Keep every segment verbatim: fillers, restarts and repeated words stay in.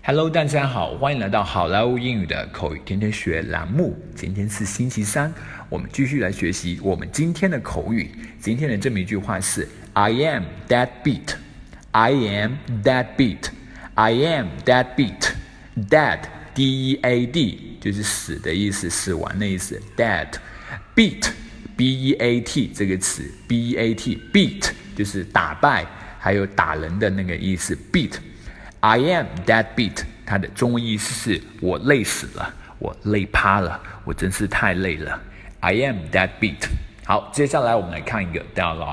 Hello， 大家好，欢迎来到好莱坞英语的口语天天学栏目。今天是星期三，我们继续来学习我们今天的口语。今天的这么一句话是 I am that beat. I am that beat. I am that beat. That D E A D 就是死的意思，死亡的意思。That beat B E A T 这个词 B E A T beat 就是打败还有打人的那个意思 beat。I am that beat， 它的中文意思是我累死了，我累趴了，我真是太累了。I am that beat。好，接下来我们来看一个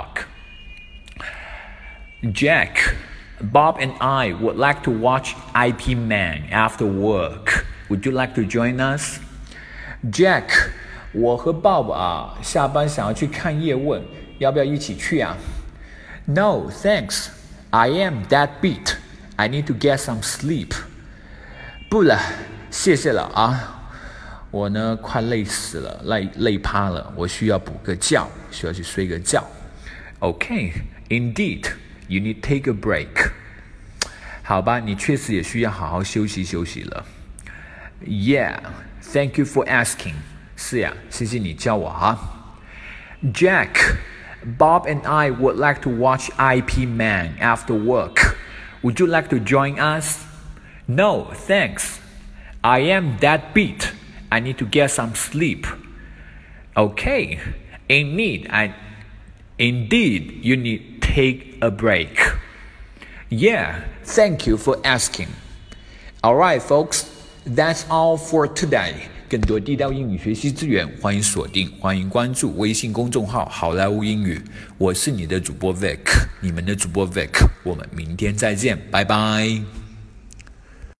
dialogue。Jack, Bob and I would like to watch Ip Man after work. Would you like to join us? Jack, 我和 Bob 啊，下班想要去看叶问，要不要一起去啊？ No, thanks. I am that beat.I need to get some sleep. 不了，谢谢了啊！我呢快累死了，累累趴了，我需要补个觉，需要去睡个觉。Okay, indeed, you need to take a break. 好吧，你确实也需要好好休息休息了。Yeah, thank you for asking. 是呀，谢谢你叫我哈。Jack, Bob and I would like to watch Ip Man after work.Would you like to join us? No, thanks. I am that beat. I need to get some sleep. Okay, indeed, I, indeed, you need to take a break. Yeah, thank you for asking. All right, folks, that's all for today. 更多地道英语学习资源，欢迎锁定，欢迎关注微信公众号好莱坞英语。我是你的主播 Vic， 你们的主播 Vic， 我们明天再见，拜拜。